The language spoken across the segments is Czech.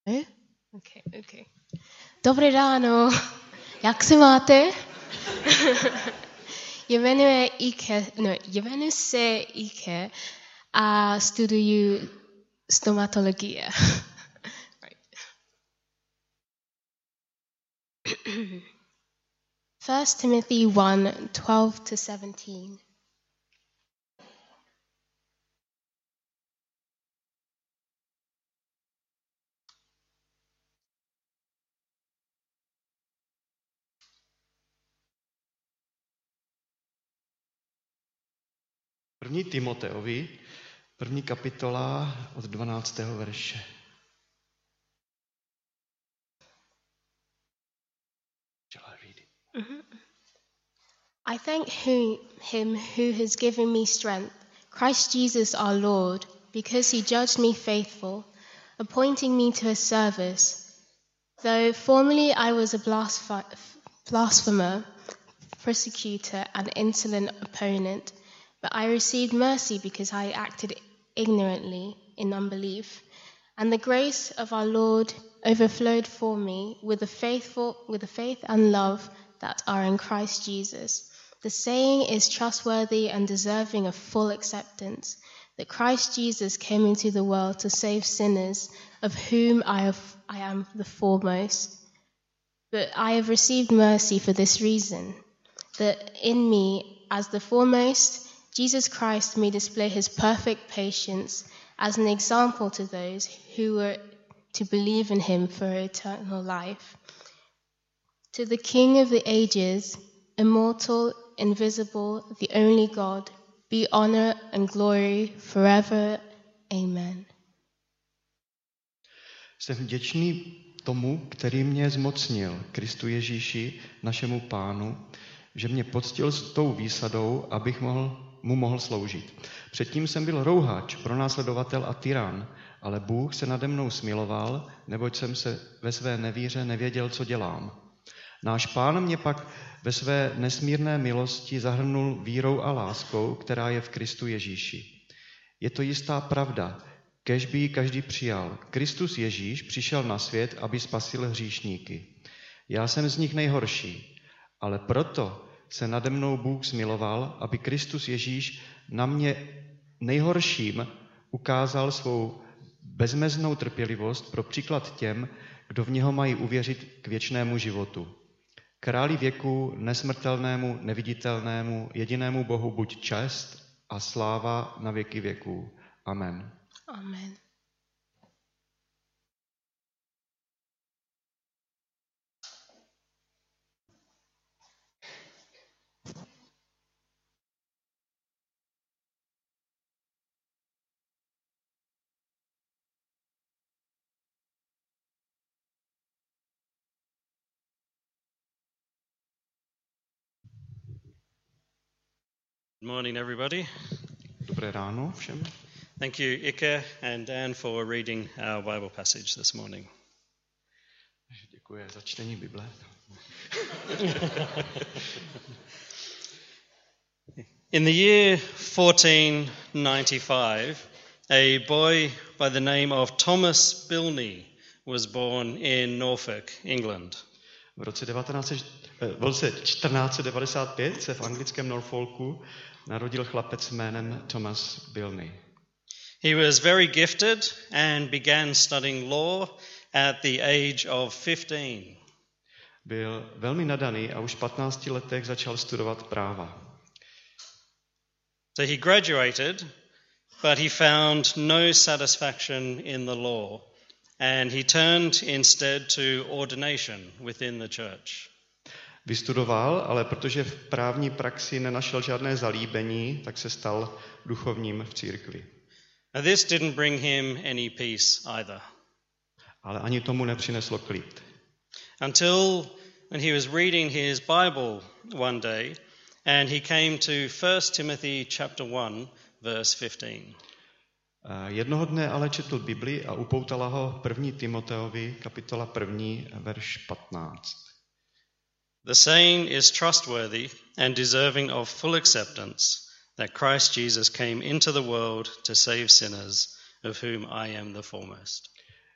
Okay. Dobré ráno, jak se máte? Jmenuji se Ike a studuju stomatologie. Right. 1 Timothy 1:12-17. První Timoteovi, 1. kapitola od 12. verše. Shall I read it? I thank him who has given me strength, Christ Jesus our Lord, because he judged me faithful, appointing me to his service. Though formerly I was a blasphemer, persecutor, and insolent opponent, but I received mercy because I acted ignorantly in unbelief. And the grace of our Lord overflowed for me with the faith and love that are in Christ Jesus. The saying is trustworthy and deserving of full acceptance, that Christ Jesus came into the world to save sinners, of whom I am the foremost. But I have received mercy for this reason, that in me, as the foremost, Jesus Christ may display his perfect patience as an example to those who were to believe in him for eternal life. To the King of the ages, immortal, invisible, the only God, be honor and glory forever. Amen. Jsem vděčný tomu, který mě zmocnil, Kristu Ježíši, našemu Pánu, že mě poctil s tou výsadou, abych mu mohl sloužit. Předtím jsem byl rouhač, pronásledovatel a tyran, ale Bůh se nade mnou smiloval, neboť jsem se ve své nevíře nevěděl, co dělám. Náš Pán mě pak ve své nesmírné milosti zahrnul vírou a láskou, která je v Kristu Ježíši. Je to jistá pravda, kéž by ji každý přijal. Kristus Ježíš přišel na svět, aby spasil hříšníky. Já jsem z nich nejhorší, ale proto se nade mnou Bůh smiloval, aby Kristus Ježíš na mě nejhorším ukázal svou bezmeznou trpělivost pro příklad těm, kdo v něho mají uvěřit k věčnému životu. Králi věku, nesmrtelnému, neviditelnému, jedinému Bohu buď čest a sláva na věky věků. Amen. Amen. Good morning, everybody. Dobré ráno všem. Thank you, Ike and Dan, for reading our Bible passage this morning. Děkuji za čtení Bible. In the year 1495, a boy by the name of Thomas Bilney was born in Norfolk, England. V roce 1495 se v anglickém Norfolku narodil chlapec jménem Thomas Bilney. He was very gifted and began studying law at the age of 15. Byl velmi nadaný a už v 15 letech začal studovat práva. So he graduated, but he found no satisfaction in the law, and he turned instead to ordination within the church. Vystudoval, ale protože v právní praxi nenašel žádné zalíbení, tak se stal duchovním v církvi. Now this didn't bring him any peace either. Ale ani tomu nepřineslo klid. Until when he was reading his Bible one day, and he came to 1 Timothy chapter 1, verse 15. Jednoho dne ale četl Bibli a upoutala ho 1. Timoteovi, kapitola 1, verš 15. The saying is trustworthy and deserving of full acceptance, that Christ Jesus came into the world to save sinners, of whom I am the foremost.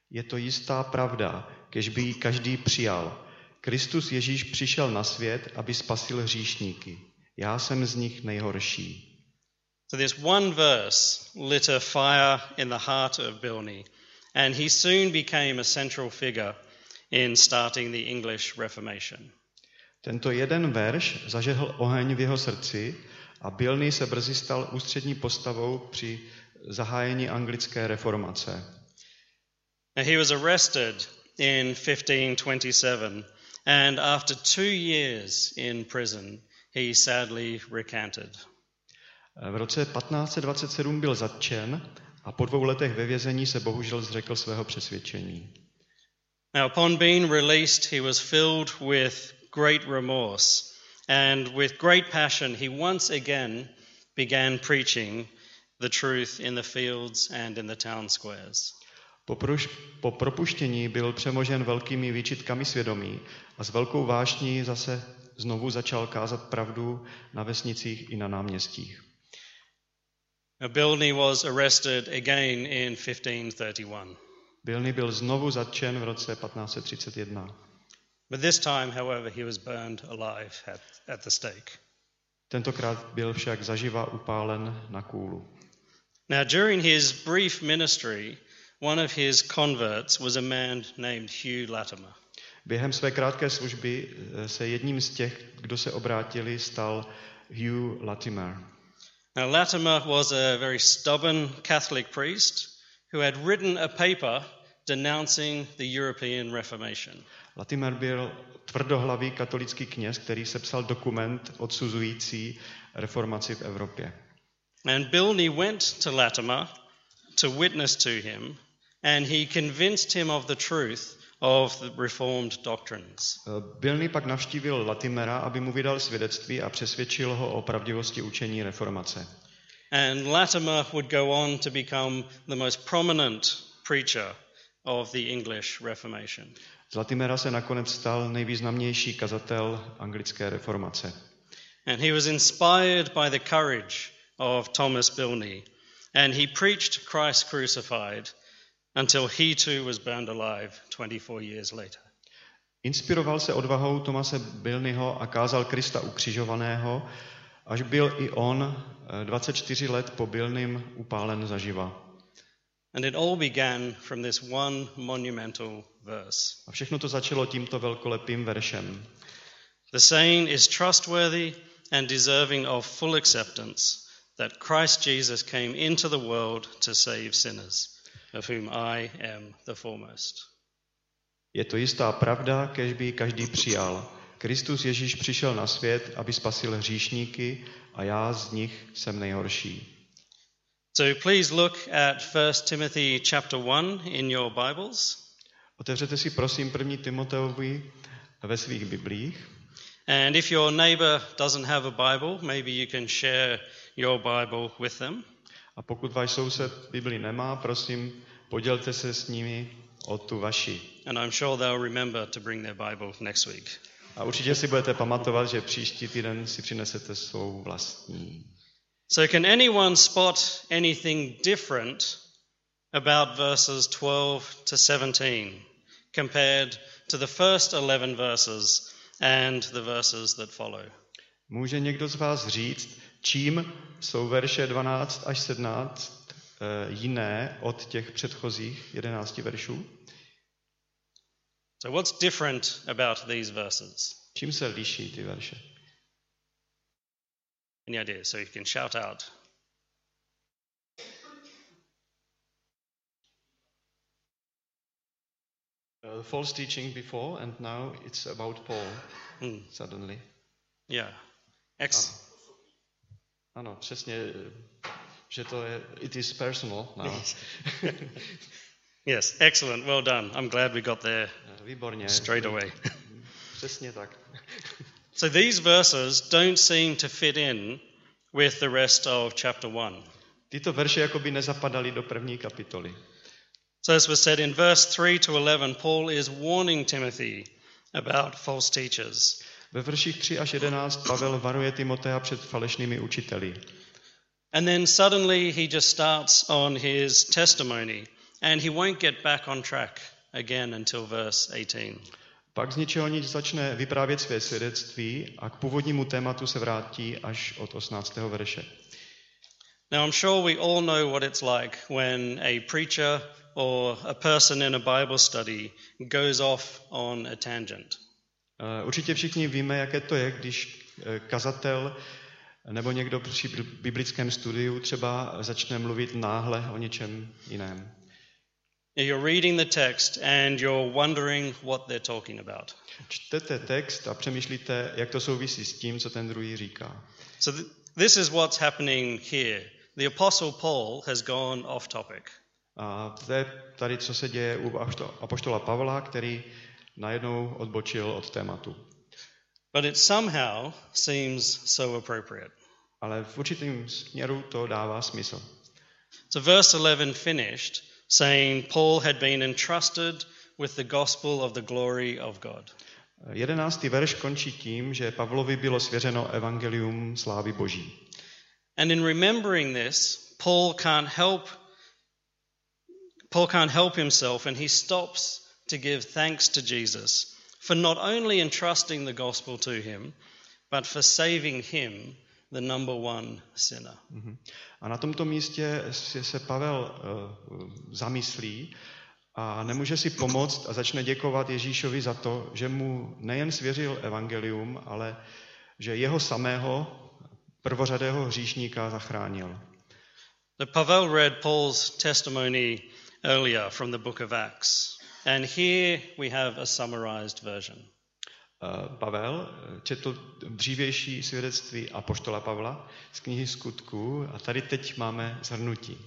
Je to jistá pravda, kež by ji každý přijal. Kristus Ježíš přišel na svět, aby spasil hříšníky. Já jsem z nich nejhorší. So this one verse lit a fire in the heart of Bilney, and he soon became a central figure in starting the English Reformation. Tento jeden verš zažehl oheň v jeho srdci a Bilney se brzy stal ústřední postavou při zahájení anglické reformace. Now, he was arrested in 1527, and after 2 years in prison, he sadly recanted. V roce 1527 byl zatčen a po 2 letech ve vězení se bohužel zřekl svého přesvědčení. Now, upon being released, he was filled with great remorse, and with great passion, he once again began preaching the truth in the fields and in the town squares. Po propuštění byl přemožen velkými výčitkami svědomí a s velkou vášní zase znovu začal kázat pravdu na vesnicích i na náměstích. Bilney was arrested again in 1531. Bilney byl znovu zatčen v roce 1531. But this time, however, he was burned alive at the stake. Tentokrát byl však zaživa upálen na kůlu. Now, during his brief ministry, one of his converts was a man named Hugh Latimer. Během své krátké služby se jedním z těch, kdo se obrátili, stal Hugh Latimer. Now, Latimer was a very stubborn Catholic priest who had written a paper denouncing the European Reformation. Latimer byl tvrdohlavý katolický kněz, který sepsal dokument odsuzující reformaci v Evropě. And Bilney went to Latimer to witness to him, and he convinced him of the truth of the Reformed doctrines. Bilney pak navštívil Latimera, aby mu vydal svědectví a přesvědčil ho o pravdivosti učení reformace. And Latimer would go on to become the most prominent preacher of the English Reformation. Z Latimera se nakonec stal nejvýznamnější kazatel anglické reformace. And he was inspired by the courage of Thomas Bilney, and he preached Christ crucified until he too was burned alive 24 years later. Inspiroval se odvahou Thomase Bilneyho a kázal Krista ukřižovaného, až byl i on 24 let po Bilneym upálen zaživa. And it all began from this one monumental verse. A všechno to začalo tímto velkolepým veršem. The saying is trustworthy and deserving of full acceptance that Christ Jesus came into the world to save sinners, of whom I am the foremost. Je to jistá pravda, kež by každý přijal. Kristus Ježíš přišel na svět, aby spasil hříšníky a já z nich jsem nejhorší. So please look at 1 Timothy chapter 1 in your Bibles. Otevřete si prosím 1. Timoteovi ve svých biblích. And if your neighbor doesn't have a Bible, maybe you can share your Bible with them. A pokud váš soused Bibli nemá, prosím, podělte se s nimi o tu vaši. And I'm sure they'll remember to bring their Bible next week. A určitě si budete pamatovat, že příští týden si přinesete svou vlastní. So can anyone spot anything different about verses 12 to 17 compared to the first 11 verses and the verses that follow? Může někdo z vás říct, čím jsou verše 12 až 17 jiné od těch předchozích 11 veršů? So what's different about these verses? Čím se liší ty verše? Any ideas? So you can shout out. False teaching before and now it's about Paul suddenly. Yeah. Ano, přesně, že to je, it is personal now. Yes, excellent, well done. I'm glad we got there Výborně. straight away. Přesně tak. So these verses don't seem to fit in with the rest of chapter 1. Tyto verše jakoby nezapadaly do první kapitoly. So as was said in verse 3 to 11, Paul is warning Timothy about false teachers. Ve verších 3 až 11 Pavel varuje Timotea před falešnými učiteli. And then suddenly he just starts on his testimony and he won't get back on track again until verse 18. Pak z ničeho nic začne vyprávět své svědectví a k původnímu tématu se vrátí až od 18. verše. Now I'm sure we all know what it's like when a preacher or a person in a Bible study goes off on a tangent. Určitě všichni víme, jaké to je, když kazatel nebo někdo při biblickém studiu třeba začne mluvit náhle o něčem jiném. You're reading the text and you're wondering what they're talking about. Čtete text a přemýšlíte, jak to souvisí s tím, co ten druhý říká. So this is what's happening here. The Apostle Paul has gone off topic. A to je tady, co se děje u apoštola Pavla, který najednou odbočil od tématu. But it somehow seems so appropriate. Ale v určitém směru to dává smysl. So verse 11 finished saying Paul had been entrusted with the gospel of the glory of God. 11. verš končí tím, že Pavlovi bylo svěřeno evangelium slávy Boží. And in remembering this, Paul can't help himself, and he stops to give thanks to Jesus for not only entrusting the gospel to him, but for saving him, the number one sinner. A na tomto místě se Pavel zamyslí a nemůže si pomoct a začne děkovat Ježíšovi za to, že mu nejen svěřil evangelium, ale že jeho samého prvořadého hříšníka zachránil. Pavel read Paul's testimony earlier from the book of Acts, and here we have a summarized version. Pavel četl dřívější svědectví apoštola Pavla z knihy Skutků a tady teď máme shrnutí.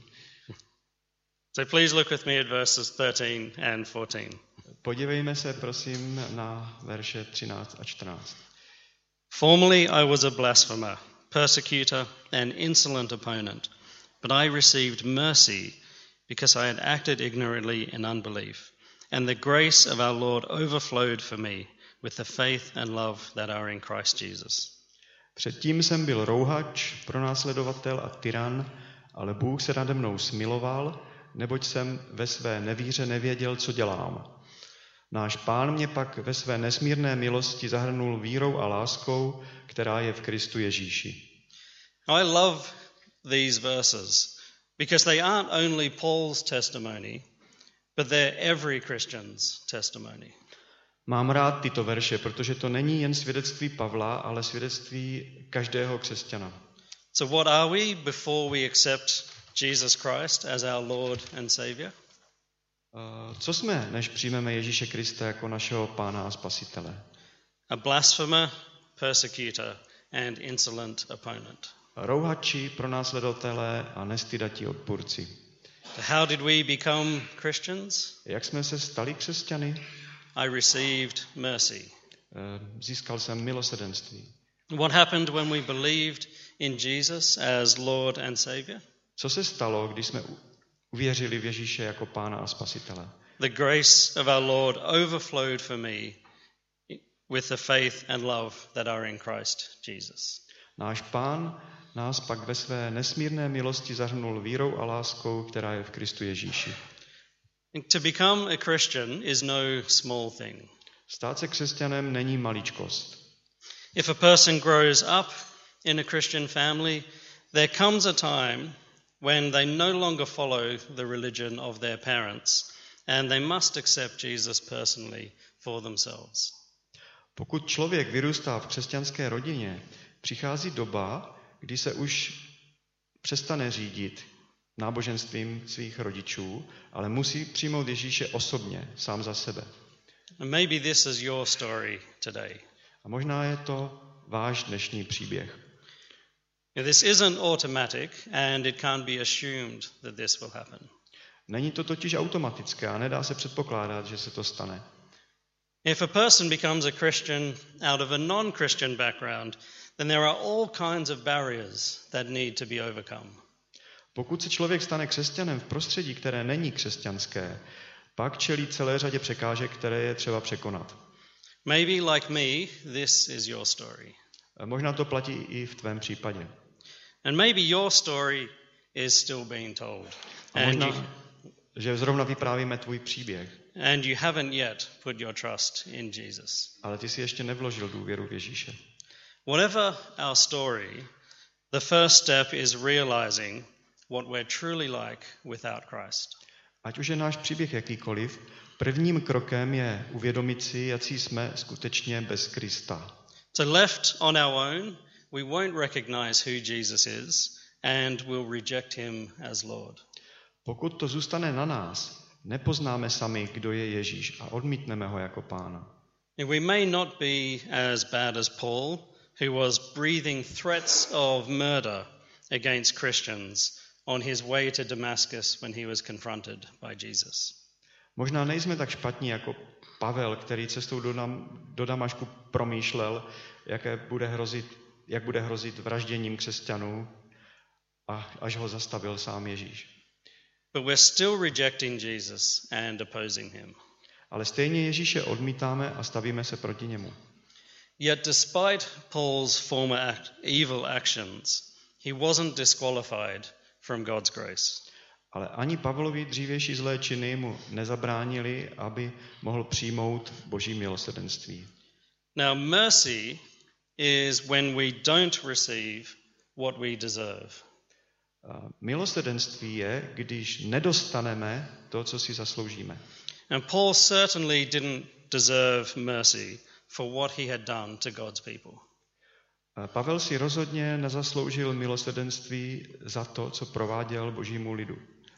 So please look with me at verses 13 and 14. Podívejme se prosím na verše 13 a 14. Formerly I was a blasphemer, persecutor and insolent opponent, but I received mercy because I had acted ignorantly in unbelief, and the grace of our Lord overflowed for me with the faith and love that are in Christ Jesus. Předtím jsem byl rouhač, pronásledovatel a tyran, ale Bůh se nade mnou smiloval, neboť jsem ve své nevíře nevěděl, co dělám. Náš Pán mě pak ve své nesmírné milosti zahrnul vírou a láskou, která je v Kristu Ježíši. I love these verses because they aren't only Paul's testimony, but they're every Christian's testimony. Mám rád tyto verše, protože to není jen svědectví Pavla, ale svědectví každého křesťana. So what are we before we accept Jesus Christ as our Lord and Savior? Co jsme, než přijmeme Ježíše Krista jako našeho Pána a Spasitele? A blasphemer, persecutor and insolent opponent. Rouhači, pronásledovatelé a nestydatí odpůrci. How did we become Christians? Jak jsme se stali křesťany? I received mercy. Získal jsem milosrdenství. What happened when we believed in Jesus as Lord and Savior? Co se stalo, když jsme uvěřili v Ježíše jako Pána a Spasitele? The grace of our Lord overflowed for me with the faith and love that are in Christ Jesus. Náš Pán nás pak ve své nesmírné milosti zahrnul vírou a láskou, která je v Kristu Ježíši. To become a Christian is no small thing. Stát se křesťanem není maličkost. If a person grows up in a Christian family, there comes a time when they no longer follow the religion of their parents and they must accept Jesus personally for themselves. Pokud člověk vyrůstá v křesťanské rodině, přichází doba, kdy se už přestane řídit náboženstvím svých rodičů, ale musí přijmout Ježíše osobně, sám za sebe. And maybe this is your story today. A možná je to váš dnešní příběh. This isn't automatic and it can't be assumed that this will happen. Není to totiž automatické a nedá se předpokládat, že se to stane. If a person becomes a Christian out of a non-Christian background, then there are all kinds of barriers that need to be overcome. Pokud se člověk stane křesťanem v prostředí, které není křesťanské, pak čelí celé řadě překážek, které je třeba překonat. Maybe like me, this is your story. Možná to platí i v tvém případě. And maybe your story is still being told. A možná, že zrovna vyprávíme tvůj příběh, and you haven't yet put your trust in Jesus. ale ty si ještě nevložil důvěru v Ježíše. Whatever our story, the first step is realizing what we're truly like without Christ. Ať už je náš příběh jakýkoliv, prvním krokem je uvědomit si, jací jsme skutečně bez Krista. So left on our own, we won't recognize who Jesus is and will reject him as Lord. Pokud to zůstane na nás, nepoznáme sami, kdo je Ježíš a odmítneme ho jako pána. We may not be as bad as Paul, who was breathing threats of murder against Christians on his way to Damascus when he was confronted by Jesus. Možná nejsme tak špatní jako Pavel, který cestou do Damašku promýšlel, jak bude hrozit vražděním křesťanů, až ho zastavil sám Ježíš. But we're still rejecting Jesus and opposing him. Ale stejně Ježíše odmítáme a stavíme se proti němu. Yet despite Paul's former evil actions, he wasn't disqualified from God's grace. Ale ani Pavlovi dřívější zlé činy mu nezabránili, aby mohl přijmout Boží milosrdenství. Now mercy is when we don't receive what we deserve. Milosrdenství je, když nedostaneme to, co si zasloužíme. And Paul certainly didn't deserve mercy for what he had done to God's people. Pavel si rozhodně nezasloužil milosrdenství za to, co prováděl Božímu lidu.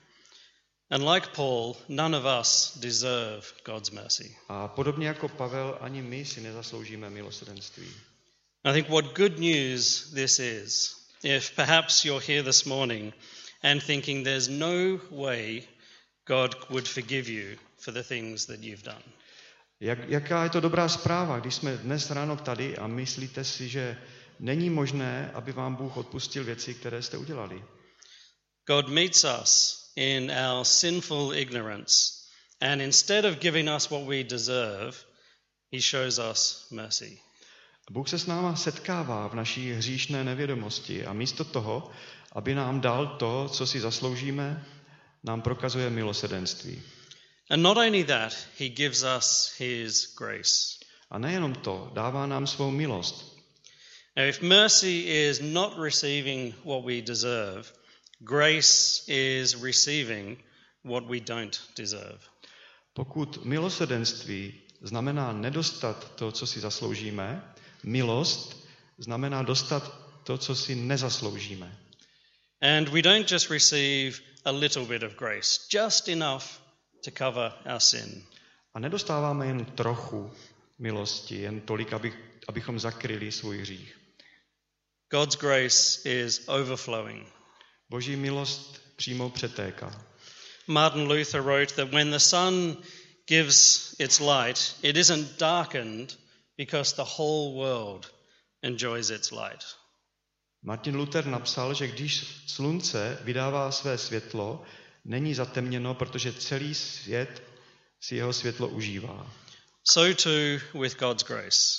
And like Paul, none of us deserve God's mercy. A podobně jako Pavel, ani my si nezasloužíme milosrdenství. I think what good news this is, if perhaps you're here this morning and thinking there's no way God would forgive you for the things that you've done. Jaká je to dobrá zpráva, když jsme dnes ráno tady a myslíte si, že není možné, aby vám Bůh odpustil věci, které jste udělali. God meets us in our sinful ignorance, and instead of giving us what we deserve, he shows us mercy. Bůh se s náma setkává v naší hříšné nevědomosti a místo toho, aby nám dal to, co si zasloužíme, nám prokazuje milosrdenství. And not only that, he gives us his grace. A nejenom to, dává nám svou milost. Now, if mercy is not receiving what we deserve, grace is receiving what we don't deserve. Pokud milosrdenství znamená nedostat to, co si zasloužíme, milost znamená dostat to, co si nezasloužíme. And we don't just receive a little bit of grace, just enough to cover our sin. A nedostáváme jen trochu milosti, jen tolik, abychom zakryli svůj hřích. God's grace is overflowing. Boží milost přímo přetéká. Martin Luther wrote that when the sun gives its light, it isn't darkened because the whole world enjoys its light. Martin Luther napsal, že když slunce vydává své světlo, není zatemněno, protože celý svět si jeho světlo užívá. So too with God's grace.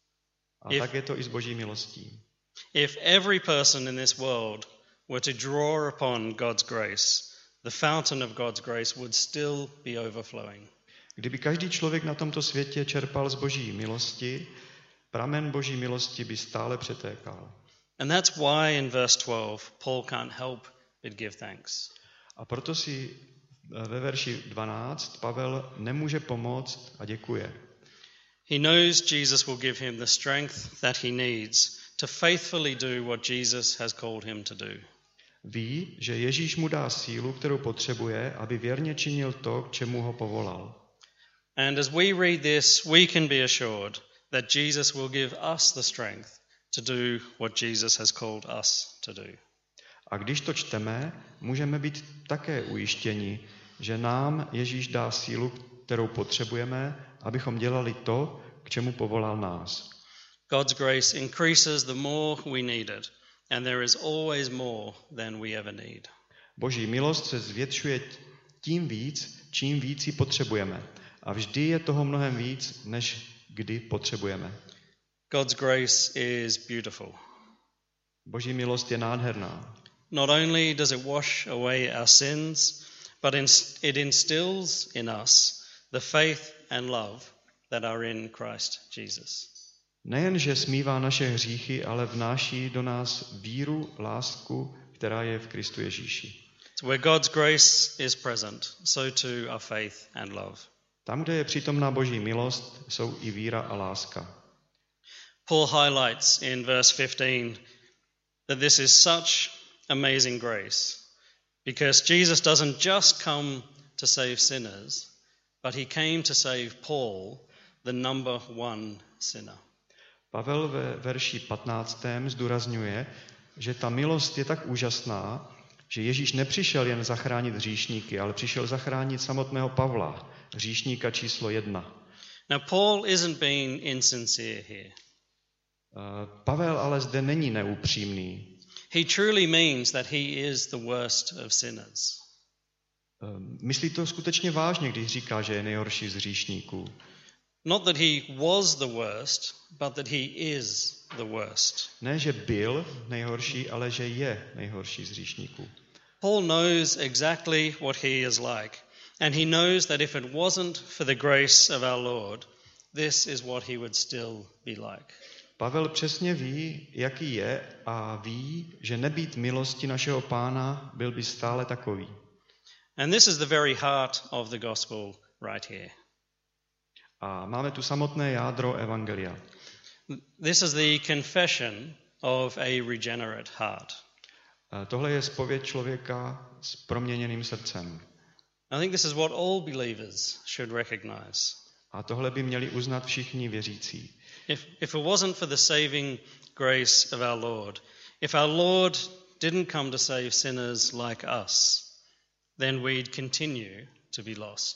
A tak je to i s Boží milostí. If every person in this world were to draw upon God's grace, the fountain of God's grace would still be overflowing. Kdyby každý člověk na tomto světě čerpal z Boží milosti, pramen Boží milosti by stále přetékal. And that's why in verse 12 Paul can't help but give thanks. A proto si ve verši 12 Pavel nemůže pomoct a děkuje. He knows Jesus will give him the strength that he needs to faithfully do what Jesus has called him to do. Ví, že Ježíš mu dá sílu, kterou potřebuje, aby věrně činil to, k čemu ho povolal. And as we read this, we can be assured that Jesus will give us the strength to do what Jesus has called us to do. A když to čteme, můžeme být také ujištěni, že nám Ježíš dá sílu, kterou potřebujeme, abychom dělali to, k čemu povolal nás. God's grace increases the more we need it, and there is always more than we ever need. Boží milost se zvětšuje tím víc, čím víc ji potřebujeme. A vždy je toho mnohem víc, než kdy potřebujeme. God's grace is beautiful. Boží milost je nádherná. Not only does it wash away our sins, but it instills in us the faith and love that are in Christ Jesus. Nejenže smívá naše hříchy, ale vnáší do nás víru, lásku, která je v Kristu Ježíši. So where God's grace is present, so too are faith and love. Tam, kde je přítomná Boží milost, jsou i víra a láska. Paul highlights in verse 15 that this is such amazing grace because Jesus doesn't just come to save sinners, but he came to save Paul, the number one sinner. Pavel ve verši 15. zdůrazňuje, že ta milost je tak úžasná, že Ježíš nepřišel jen zachránit hříšníky, ale přišel zachránit samotného Pavla, hříšníka číslo 1. Now Paul isn't being insincere here. Pavel ale zde není neupřímný. He truly means that he is the worst of sinners. Myslí to skutečně vážně, když říká, že je nejhorší z hříšníků. Not that he was the worst, but that he is the worst. Ne, že byl nejhorší, ale že je nejhorší z hříšníků. Paul knows exactly what he is like, and he knows that if it wasn't for the grace of our Lord, this is what he would still be like. Pavel přesně ví, jaký je, a ví, že nebýt milosti našeho Pána, byl by stále takový. And this is the very heart of the gospel right here. A máme tu samotné jádro evangelia. This is the confession of a regenerate heart. Tohle je zpověď člověka s proměněným srdcem. I think this is what all believers should recognize. A tohle by měli uznat všichni věřící. If it wasn't for the saving grace of our Lord, if our Lord didn't come to save sinners like us, then we'd continue to be lost.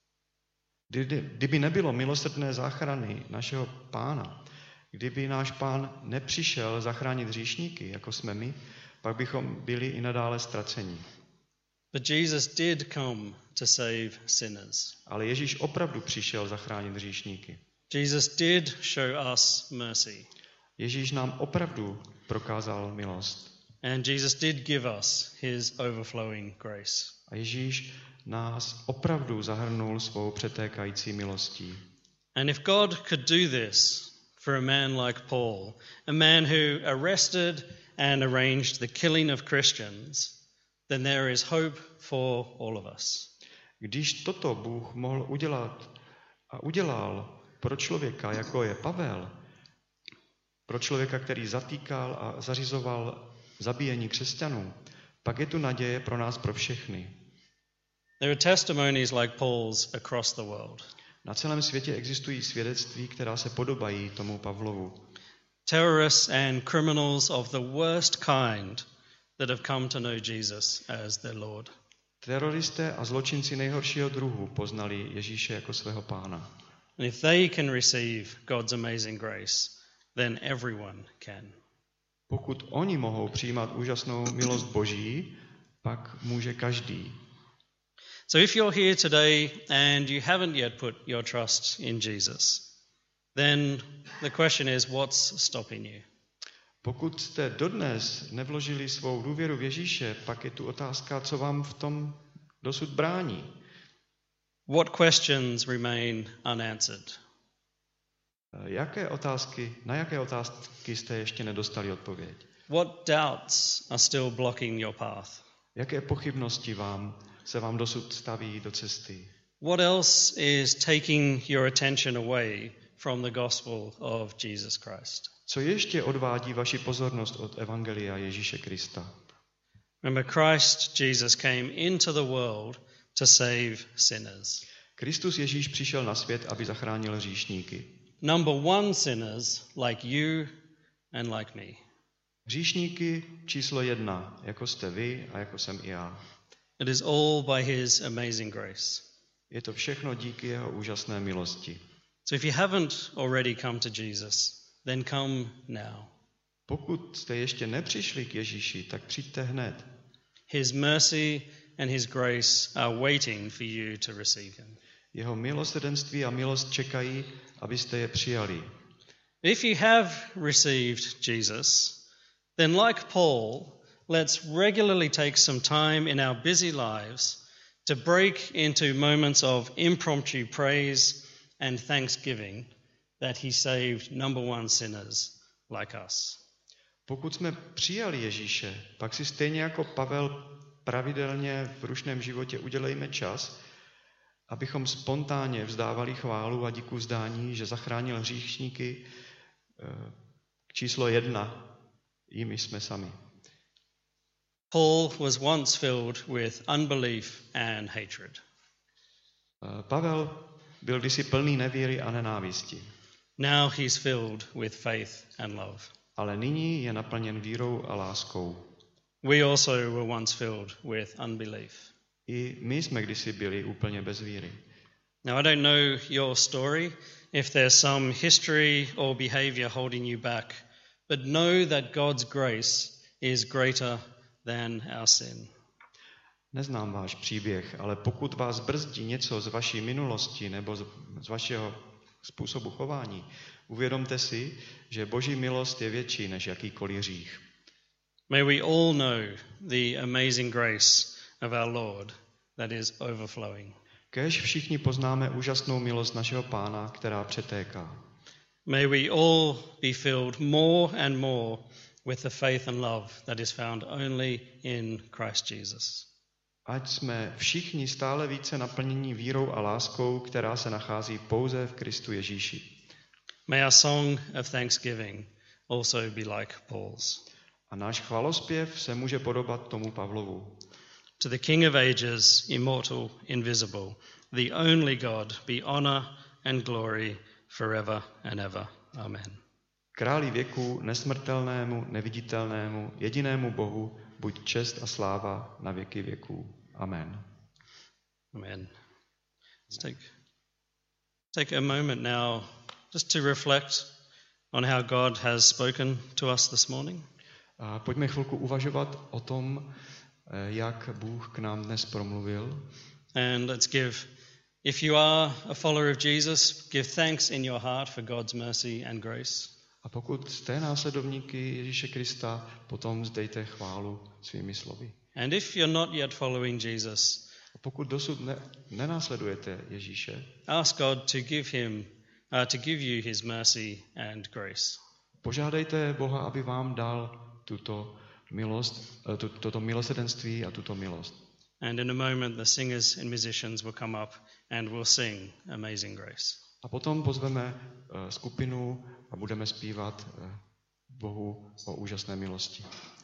Kdyby nebylo milosrdné záchrany našeho Pána, kdyby náš Pán nepřišel zachránit hříšníky, jako jsme my, pak bychom byli i nadále ztraceni. But Jesus did come to save sinners. Ale Ježíš opravdu přišel zachránit hříšníky. Jesus did show us mercy. Ježíš nám opravdu prokázal milost. And Jesus did give us his overflowing grace. A Ježíš nás opravdu zahrnul svou přetékající milostí. And if God could do this for a man like Paul, a man who arrested and arranged the killing of Christians, then there is hope for all of us. Když toto Bůh mohl udělat a udělal pro člověka, jako je Pavel, pro člověka, který zatýkal a zařizoval zabíjení křesťanů, pak je tu naděje pro nás, pro všechny. There are testimonies like Paul's across the world. Na celém světě existují svědectví, která se podobají tomu Pavlovu. Terrorists and criminals of the worst kind that have come to know Jesus as their Lord. Teroristé a zločinci nejhoršího druhu poznali Ježíše jako svého Pána. And if they can receive God's amazing grace, then everyone can. Pokud oni mohou přijímat úžasnou milost Boží, pak může každý. So if you're here today and you haven't yet put your trust in Jesus, then the question is, what's stopping you? Pokud jste dodnes nevložili svou důvěru v Ježíše, pak je tu otázka, co vám v tom dosud brání. What questions remain unanswered? Na jaké otázky jste ještě nedostali odpověď? What doubts are still blocking your path? Jaké pochybnosti se vám dosud staví do cesty? What else is taking your attention away from the gospel of Jesus Christ? Co ještě odvádí vaši pozornost od evangelia Ježíše Krista? Remember, Christ Jesus came into the world to save sinners. Kristus Ježíš přišel na svět, aby zachránil hříšníky. Number one sinners like you and like me. Hříšníky číslo 1, jako jste vy a jako jsem i já. It is all by his amazing grace. Je to všechno díky jeho úžasné milosti. So if you haven't already come to Jesus, then come now. Pokud jste ještě nepřišli k Ježíši, tak přijďte hned. His mercy and his grace are waiting for you to receive him. Jeho milosrdenství a milost čekají, abyste je přijali. If you have received Jesus, then like Paul, let's regularly take some time in our busy lives to break into moments of impromptu praise and thanksgiving that he saved number one sinners like us. Pokud jsme přijali Ježíše, pak si stejně jako Pavel pravidelně v rušném životě udělejme čas, abychom spontánně vzdávali chválu a díku vzdání, že zachránil hříšníky. Číslo 1, jimi jsme sami. Paul was once filled with unbelief and hatred. Pavel byl kdysi plný nevíry a nenávisti. Now he's filled with faith and love. Ale nyní je naplněn vírou a láskou. We also were once filled with unbelief. I my jsme kdysi byli úplně bez víry. Now, I don't know your story, if there's some history or behavior holding you back, but know that God's grace is greater than our sin. Neznám váš příběh, ale pokud vás brzdí něco z vaší minulosti nebo z vašeho způsobu chování, uvědomte si, že Boží milost je větší než jakýkoliv hřích. May we all know the amazing grace of our Lord that is overflowing. Kéž všichni poznáme úžasnou milost našeho Pána, která přetéká. May we all be filled more and more with the faith and love that is found only in Christ Jesus. Ať jsme všichni stále více naplnění vírou a láskou, která se nachází pouze v Kristu Ježíši. May our song of thanksgiving also be like Paul's. A náš chvalospěv se může podobat tomu Pavlovu. To the King of ages, immortal, invisible, the only God, be honor and glory forever and ever. Amen. Králi věku, nesmrtelnému, neviditelnému, jedinému Bohu, buď čest a sláva na věky věků. Amen. Amen. Let's take a moment now just to reflect on how God has spoken to us this morning. A pojďme chvilku uvažovat o tom, jak Bůh k nám dnes promluvil. And let's give, if you are a follower of Jesus, give thanks in your heart for God's mercy and grace. A pokud jste následovníky Ježíše Krista, potom vzdejte chválu svými slovy. And if you're not yet following Jesus, A pokud dosud nenásledujete Ježíše, ask God to give you his mercy and grace. požádejte Boha, aby vám dal tuto milost, toto milosrdenství a tuto milost. And in a moment the singers and musicians will come up and will sing Amazing Grace. A potom pozveme skupinu a budeme zpívat Bohu o úžasné milosti.